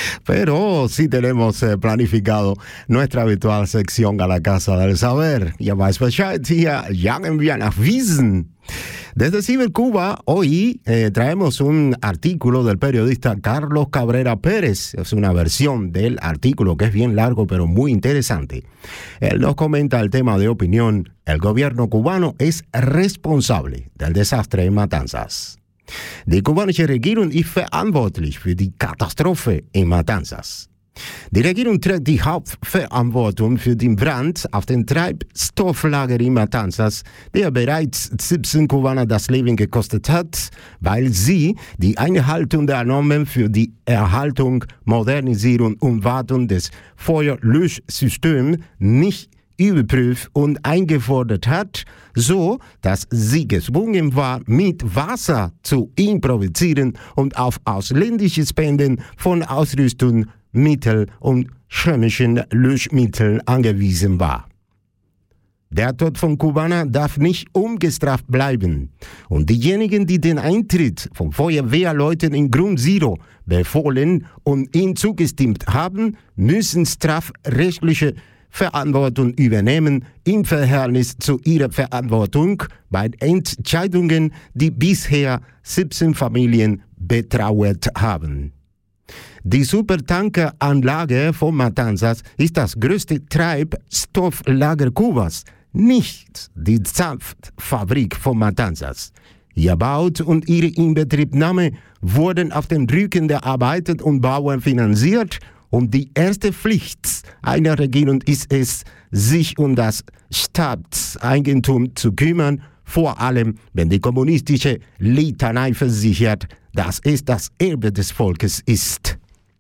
pero sí tenemos eh, planificado nuestra habitual sección a la Casa del Saber. Ja, weiß Bescheid hier, jagen wir nach Wiesen. Desde Cibercuba, hoy eh, traemos un artículo del periodista Carlos Cabrera Pérez. Es una versión del artículo que es bien largo pero muy interesante. Él nos comenta el tema de opinión: el gobierno cubano es responsable del desastre en Matanzas. Die kubanische Regierung ist verantwortlich für die Katastrophe in Matanzas. Die Regierung trägt die Hauptverantwortung für den Brand auf dem Treibstofflager in Matanzas, der bereits siebzehn Kubaner das Leben gekostet hat, weil sie die Einhaltung der Normen für die Erhaltung, Modernisierung und Wartung des Feuerlöschsystems nicht überprüft und eingefordert hat, so dass sie gezwungen war, mit Wasser zu improvisieren und auf ausländische Spenden von Ausrüstung, Mittel und chemischen Löschmitteln angewiesen war. Der Tod von Kubanern darf nicht ungestraft bleiben. Und diejenigen, die den Eintritt von Feuerwehrleuten in Grund Zero befohlen und ihnen zugestimmt haben, müssen strafrechtliche Verantwortung übernehmen im Verhältnis zu ihrer Verantwortung bei Entscheidungen, die bisher siebzehn Familien betrauert haben. Die Supertankeranlage von Matanzas ist das größte Treibstofflager Kubas, nicht die Zapfabrik von Matanzas. Ihr Bau und ihre Inbetriebnahme wurden auf dem Rücken der Arbeiter und Bauern finanziert, und die erste Pflicht einer Regierung ist es, sich um das Staatseigentum zu kümmern, vor allem wenn die kommunistische Litanei versichert, dass es das Erbe des Volkes ist.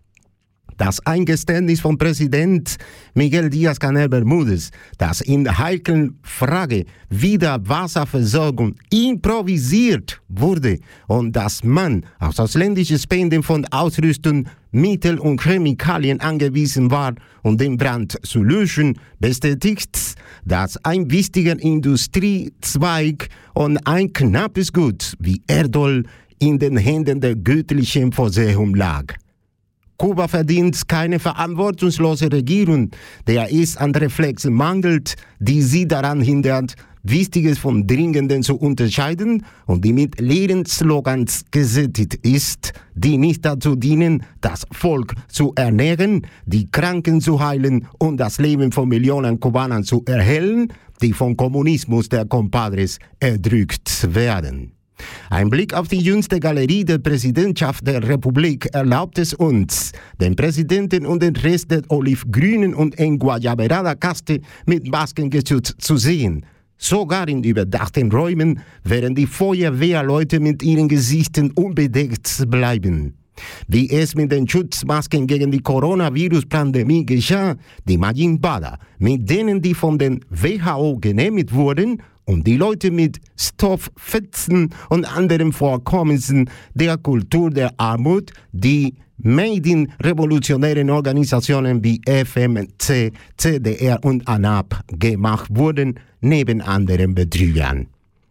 Das Eingeständnis von Präsident Miguel Díaz-Canel Bermúdez, dass in der heiklen Frage wieder Wasserversorgung improvisiert wurde und dass man auf ausländische Spenden von Ausrüstung, Mittel und Chemikalien angewiesen war, um den Brand zu löschen, bestätigt, dass ein wichtiger Industriezweig und ein knappes Gut wie Erdöl in den Händen der göttlichen Vorsehung lag. Kuba verdient keine verantwortungslose Regierung, der es an Reflexen mangelt, die sie daran hindert, Wichtiges vom Dringenden zu unterscheiden und die mit leeren Slogans gesättigt ist, die nicht dazu dienen, das Volk zu ernähren, die Kranken zu heilen und das Leben von Millionen Kubanern zu erhellen, die vom Kommunismus der Compadres erdrückt werden. Ein Blick auf die jüngste Galerie der Präsidentschaft der Republik erlaubt es uns, den Präsidenten und den Rest der olivgrünen und Enguayaberada-Kaste mit Maskengeschütz zu sehen. Sogar in überdachten Räumen werden die Feuerwehrleute mit ihren Gesichtern unbedeckt bleiben. Wie es mit den Schutzmasken gegen die Coronavirus-Pandemie geschah, die Majimbada, mit denen die von den W H O genehmigt wurden, und die Leute mit Stofffetzen und anderen Vorkommnissen der Kultur der Armut, die made in revolutionären Organisationen wie F M C, C D R und ANAP gemacht wurden, neben anderen Betrügern.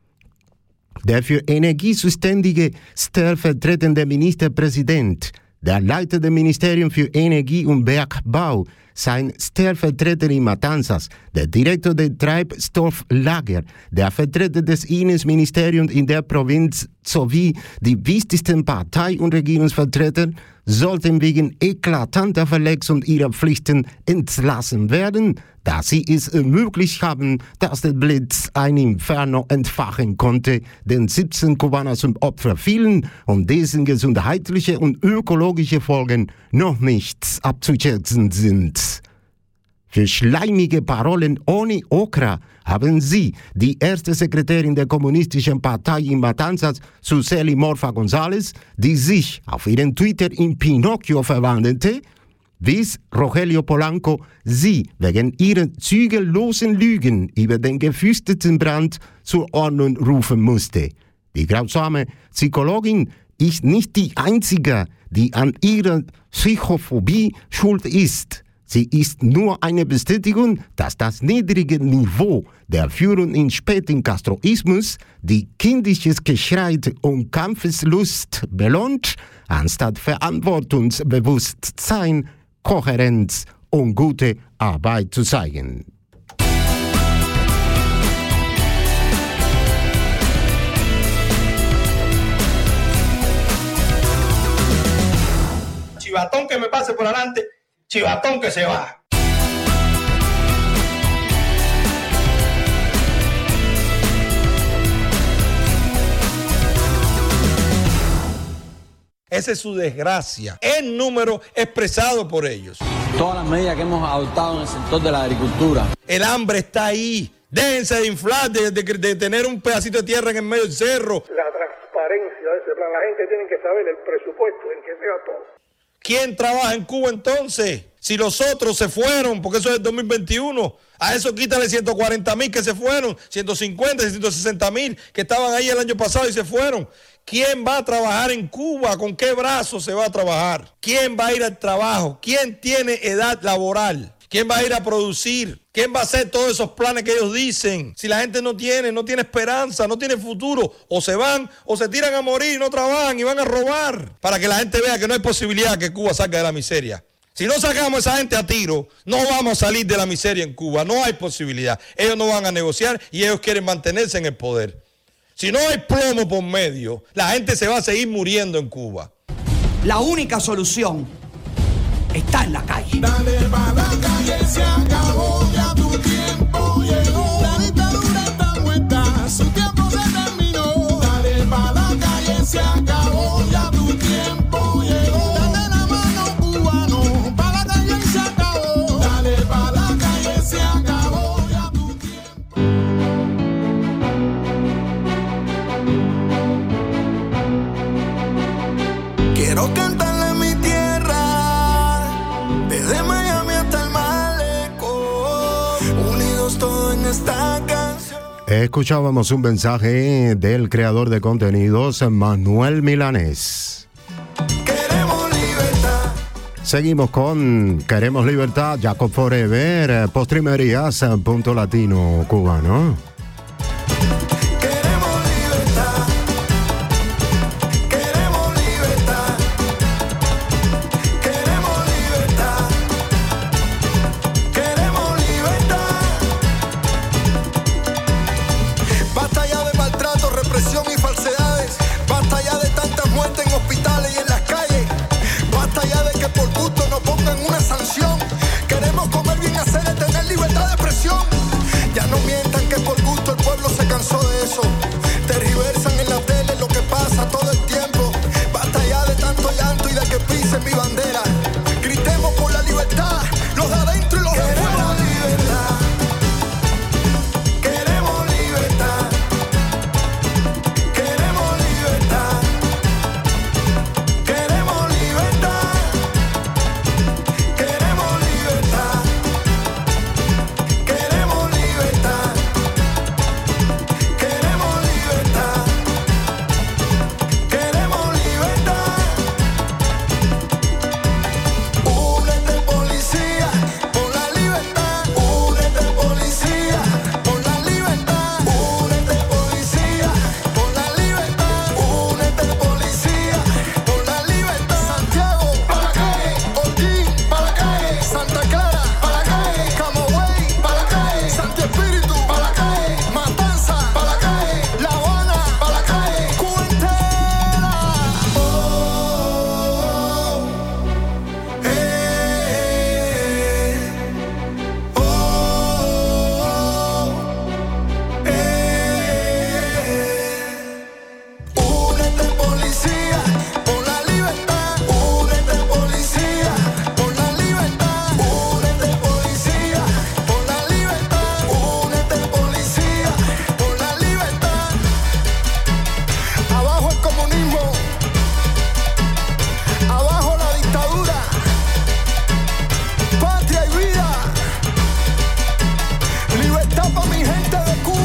Der für Energie zuständige stellvertretende Ministerpräsident, der Leiter des Ministeriums für Energie und Bergbau, sein Stellvertreter in Matanzas, der Direktor der Treibstofflager, der Vertreter des Innenministeriums in der Provinz sowie die wichtigsten Partei- und Regierungsvertreter sollten wegen eklatanter Verletzung ihrer Pflichten entlassen werden, da sie es ermöglicht haben, dass der Blitz ein Inferno entfachen konnte, den siebzehn Kubaner zum Opfer fielen und dessen gesundheitliche und ökologische Folgen noch nicht abzuschätzen sind. Für schleimige Parolen ohne Okra haben Sie, die erste Sekretärin der Kommunistischen Partei in Matanzas, Suseli Morfa González, die sich auf ihren Twitter in Pinocchio verwandelte, bis Rogelio Polanco sie wegen ihrer zügellosen Lügen über den gefürchteten Brand zur Ordnung rufen musste. Die grausame Psychologin ist nicht die einzige, die an ihrer Psychophobie schuld ist. Sie ist nur eine Bestätigung, dass das niedrige Niveau der Führung im späten Castroismus die kindisches Geschrei und Kampfeslust belohnt, anstatt Verantwortungsbewusstsein, Kohärenz und gute Arbeit zu zeigen. Chivatón que me pase por adelante, chivatón que se va. Esa es su desgracia, el número expresado por ellos. Todas las medidas que hemos adoptado en el sector de la agricultura. El hambre está ahí. Déjense de inflar, de, de, de tener un pedacito de tierra en el medio del cerro. La transparencia de ese plan, la gente tiene que saber el presupuesto en que sea todo. ¿Quién trabaja en Cuba entonces? Si los otros se fueron, porque eso es el dos mil veintiuno, a eso quítale ciento cuarenta mil que se fueron, ciento cincuenta, ciento sesenta mil que estaban ahí el año pasado y se fueron. ¿Quién va a trabajar en Cuba? ¿Con qué brazo se va a trabajar? ¿Quién va a ir al trabajo? ¿Quién tiene edad laboral? ¿Quién va a ir a producir? ¿Quién va a hacer todos esos planes que ellos dicen? Si la gente no tiene, no tiene esperanza, no tiene futuro, o se van o se tiran a morir, no trabajan y van a robar, para que la gente vea que no hay posibilidad que Cuba salga de la miseria. Si no sacamos a esa gente a tiro, no vamos a salir de la miseria en Cuba, no hay posibilidad. Ellos no van a negociar y ellos quieren mantenerse en el poder. Si no hay plomo por medio, la gente se va a seguir muriendo en Cuba. La única solución está en la calle. Dale pa' la calle, se acabó, ya tu tiempo llegó. La dictadura está muerta, su tiempo se terminó. Dale pa' la calle, se acabó, ya tu tiempo llegó. Dale la mano, cubano, pa' la calle y se acabó. Dale pa' la calle, se acabó, ya tu tiempo. Quiero cantarle mi tierra, desde Miami hasta el Malecón, unidos todos en esta canción. Escuchábamos un mensaje del creador de contenidos, Manuel Milanés. Queremos libertad. Seguimos con Queremos Libertad, Jacob Forever, Postrimerías, Punto Latino Cubano. Ya no mientan que por gusto el pueblo se cansó de eso. Tergiversan en la tele lo que pasa todo el tiempo. Basta ya de tanto llanto y de que pisen mi bandera. Gritemos por la libertad, los de adentro y los de afuera. Queremos libertad. Queremos libertad. Queremos libertad. Queremos libertad. Queremos libertad. Queremos libertad. Queremos libertad. Únete policía por la libertad. Únete policía por la libertad. Únete policía por la libertad. Únete policía por la libertad. Santiago, para la calle. Holguín, para la calle. Santa Clara, para la calle. Camagüey, para la calle. Santi Espíritu, para la calle. Matanza, para la calle. La Habana, para la calle. Cuba entera. Oh, eh, oh, eh. Únete policía por la libertad. Únete policía por la libertad. Únete policía por la libertad. Únete policía por la libertad. Abajo el comunismo. Abajo la dictadura. Patria y vida. Libertad para mi gente de Cuba.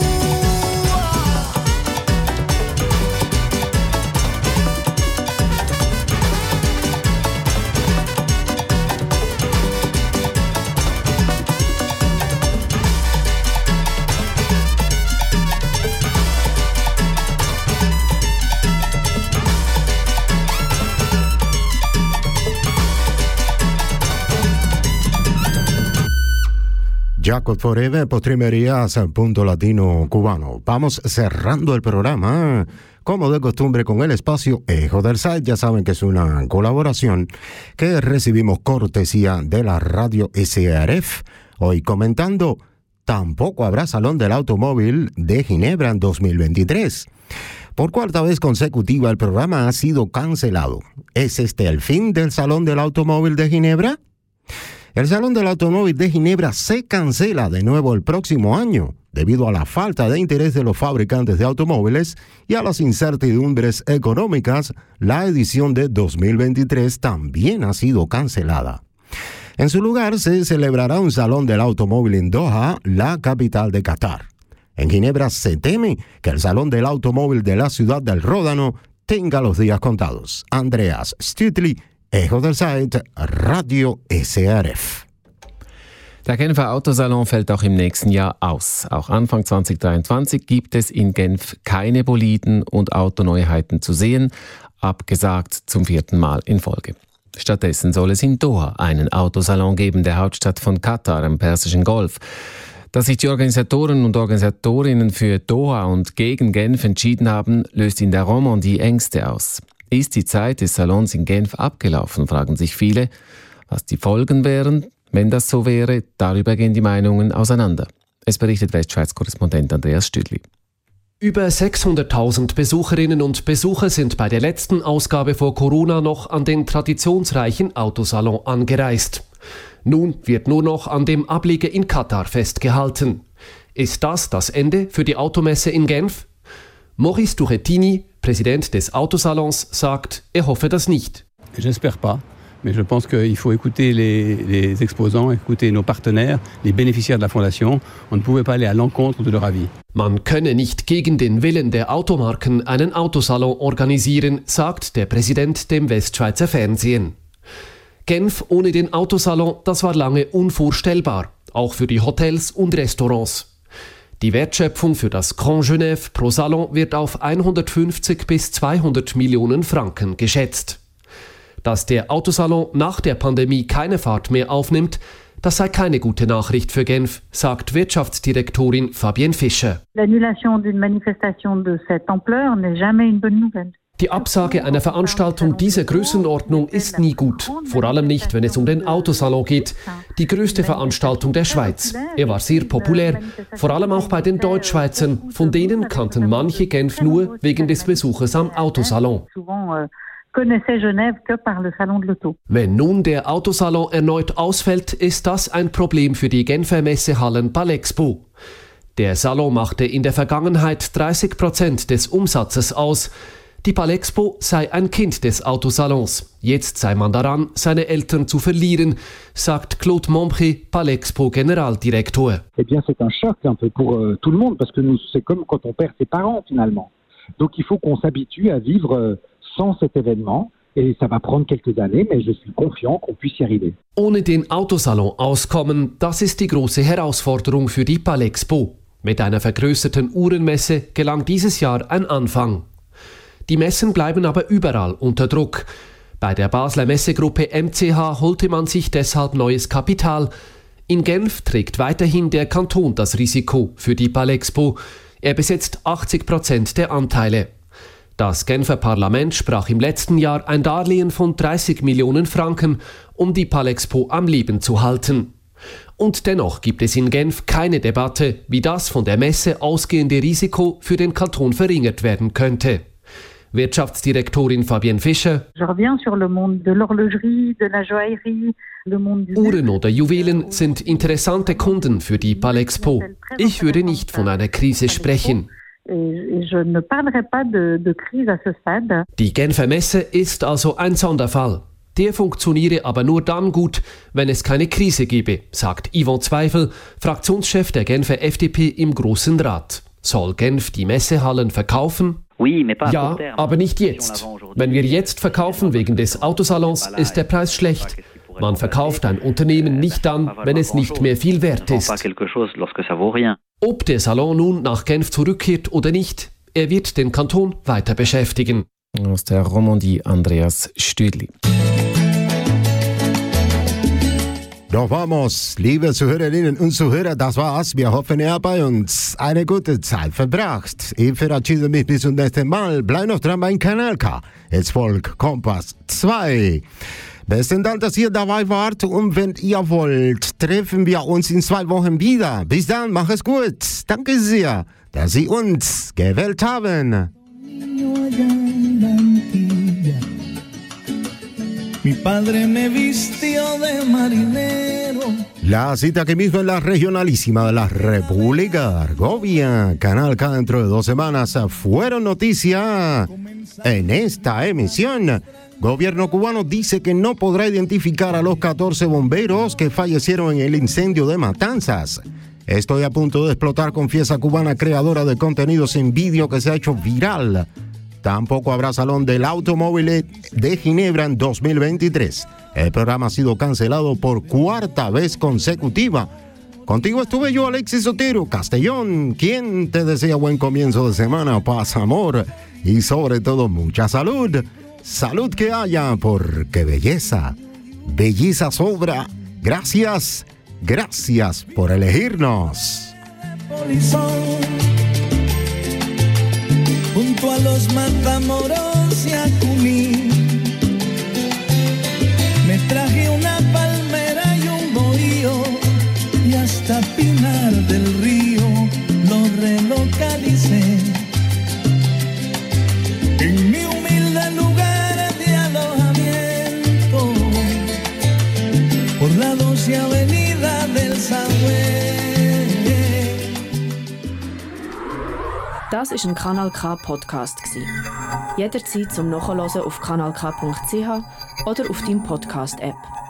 Jacob Forever, Postrimerías, Punto Latino Cubano. Vamos cerrando el programa, como de costumbre, con el espacio Ejo del Site. Ya saben que es una colaboración que recibimos cortesía de la radio S R F. Hoy comentando, tampoco habrá Salón del Automóvil de Ginebra en dos mil veintitrés. Por cuarta vez consecutiva el programa ha sido cancelado. ¿Es este el fin del Salón del Automóvil de Ginebra? El Salón del Automóvil de Ginebra se cancela de nuevo el próximo año debido a la falta de interés de los fabricantes de automóviles y a las incertidumbres económicas. La edición de dos mil veintitrés también ha sido cancelada. En su lugar se celebrará un Salón del Automóvil en Doha, la capital de Qatar. En Ginebra se teme que el Salón del Automóvil de la ciudad del Ródano tenga los días contados. Andreas Stütli, Echo del Site, Radio S R F. Der Genfer Autosalon fällt auch im nächsten Jahr aus. Auch Anfang zwanzig dreiundzwanzig gibt es in Genf keine Boliden und Autoneuheiten zu sehen, abgesagt zum vierten Mal in Folge. Stattdessen soll es in Doha einen Autosalon geben, der Hauptstadt von Katar am Persischen Golf. Dass sich die Organisatoren und Organisatorinnen für Doha und gegen Genf entschieden haben, löst in der Romandie Ängste aus. Ist die Zeit des Salons in Genf abgelaufen, fragen sich viele. Was die Folgen wären, wenn das so wäre, darüber gehen die Meinungen auseinander. Es berichtet Westschweiz-Korrespondent Andreas Stüdli. Über sechshunderttausend Besucherinnen und Besucher sind bei der letzten Ausgabe vor Corona noch an den traditionsreichen Autosalon angereist. Nun wird nur noch an dem Ableger in Katar festgehalten. Ist das das Ende für die Automesse in Genf? Maurice Tourettini, Präsident des Autosalons, sagt, er hoffe das nicht. J'espère pas. Mais je pense qu'il faut écouter les, les exposants, écouter nos partenaires, les bénéficiaires de la Fondation. On ne pouvait pas aller à l'encontre de leur avis. Man könne nicht gegen den Willen der Automarken einen Autosalon organisieren, sagt der Präsident dem Westschweizer Fernsehen. Genf ohne den Autosalon, das war lange unvorstellbar, auch für die Hotels und Restaurants. Die Wertschöpfung für das Grand Genève pro Salon wird auf hundertfünfzig bis zweihundert Millionen Franken geschätzt. Dass der Autosalon nach der Pandemie keine Fahrt mehr aufnimmt, das sei keine gute Nachricht für Genf, sagt Wirtschaftsdirektorin Fabienne Fischer. L'annulation d'une manifestation de cette ampleur n'est jamais une bonne nouvelle. Die Absage einer Veranstaltung dieser Größenordnung ist nie gut, vor allem nicht, wenn es um den Autosalon geht, die größte Veranstaltung der Schweiz. Er war sehr populär, vor allem auch bei den Deutschschweizern, von denen kannten manche Genf nur wegen des Besuches am Autosalon. Wenn nun der Autosalon erneut ausfällt, ist das ein Problem für die Genfer Messehallen Palexpo. Der Salon machte in der Vergangenheit dreißig Prozent des Umsatzes aus. Die Palexpo sei ein Kind des Autosalons. Jetzt sei man daran, seine Eltern zu verlieren, sagt Claude Montpré, Palexpo-Generaldirektor. Eh bien, c'est un choc un peu pour euh, tout le monde, parce que nous, c'est comme quand on perd ses parents, finalement. Donc, il faut qu'on s'habitue à vivre euh, sans cet événement. Et ça va prendre quelques années, mais je suis confiant qu'on puisse y arriver. Ohne den Autosalon auskommen, das ist die große Herausforderung für die Palexpo. Mit einer vergrößerten Uhrenmesse gelang dieses Jahr ein Anfang. Die Messen bleiben aber überall unter Druck. Bei der Basler Messegruppe M C H holte man sich deshalb neues Kapital. In Genf trägt weiterhin der Kanton das Risiko für die Palexpo. Er besetzt achtzig Prozent der Anteile. Das Genfer Parlament sprach im letzten Jahr ein Darlehen von dreißig Millionen Franken, um die Palexpo am Leben zu halten. Und dennoch gibt es in Genf keine Debatte, wie das von der Messe ausgehende Risiko für den Kanton verringert werden könnte. Wirtschaftsdirektorin Fabienne Fischer. Uhren oder Juwelen sind interessante Kunden für die Palexpo. Ich würde nicht von einer Krise sprechen. Die Genfer Messe ist also ein Sonderfall. Der funktioniere aber nur dann gut, wenn es keine Krise gebe, sagt Yvon Zweifel, Fraktionschef der Genfer F D P im Grossen Rat. Soll Genf die Messehallen verkaufen? Ja, aber nicht jetzt. Wenn wir jetzt verkaufen wegen des Autosalons, ist der Preis schlecht. Man verkauft ein Unternehmen nicht dann, wenn es nicht mehr viel wert ist. Ob der Salon nun nach Genf zurückkehrt oder nicht, er wird den Kanton weiter beschäftigen. Aus der Romandie Andreas Stüdli. Doch vamos, liebe Zuhörerinnen und Zuhörer, das war's. Wir hoffen, ihr habt bei uns eine gute Zeit verbracht. Ich verabschiede mich bis zum nächsten Mal. Bleib noch dran beim Kanal K. Es folgt Kompass zwei. Besten Dank, dass ihr dabei wart. Und wenn ihr wollt, treffen wir uns in zwei Wochen wieder. Bis dann, mach es gut. Danke sehr, dass Sie uns gewählt haben. Mi padre me vistió de marinero. La cita que mismo en la regionalísima de la República Argovia, Canal K dentro de dos semanas, fueron noticia en esta emisión. Gobierno cubano dice que no podrá identificar a los catorce bomberos que fallecieron en el incendio de Matanzas. Estoy a punto de explotar, confiesa cubana creadora de contenidos en vídeo que se ha hecho viral. Tampoco habrá Salón del Automóvil de Ginebra en dos mil veintitrés. El programa ha sido cancelado por cuarta vez consecutiva. Contigo estuve yo, Alexis Otero Castellón, quien te desea buen comienzo de semana, paz, amor y sobre todo mucha salud. Salud que haya, porque belleza, belleza sobra. Gracias, gracias por elegirnos. Junto a los Matamoros y a Cuní, me traje una palmera y un bohío, y hasta Pinar del Río lo relocalicé. En mi humilde lugar de alojamiento, por la doce avenida del Sagüe. Das war ein Kanal K Podcast. Jederzeit zum Nachhören auf kanal k punkt c h oder auf deinem Podcast-App.